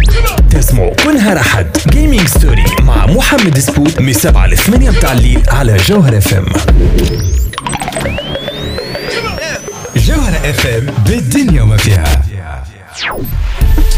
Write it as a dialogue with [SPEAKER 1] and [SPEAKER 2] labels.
[SPEAKER 1] تسمعوا كلها رحد جيمنج ستوري مع محمد سبوت من 7 ل 8 متاع الليل على جوهر اف ام. جوهر اف ام بالدنيا وما فيها.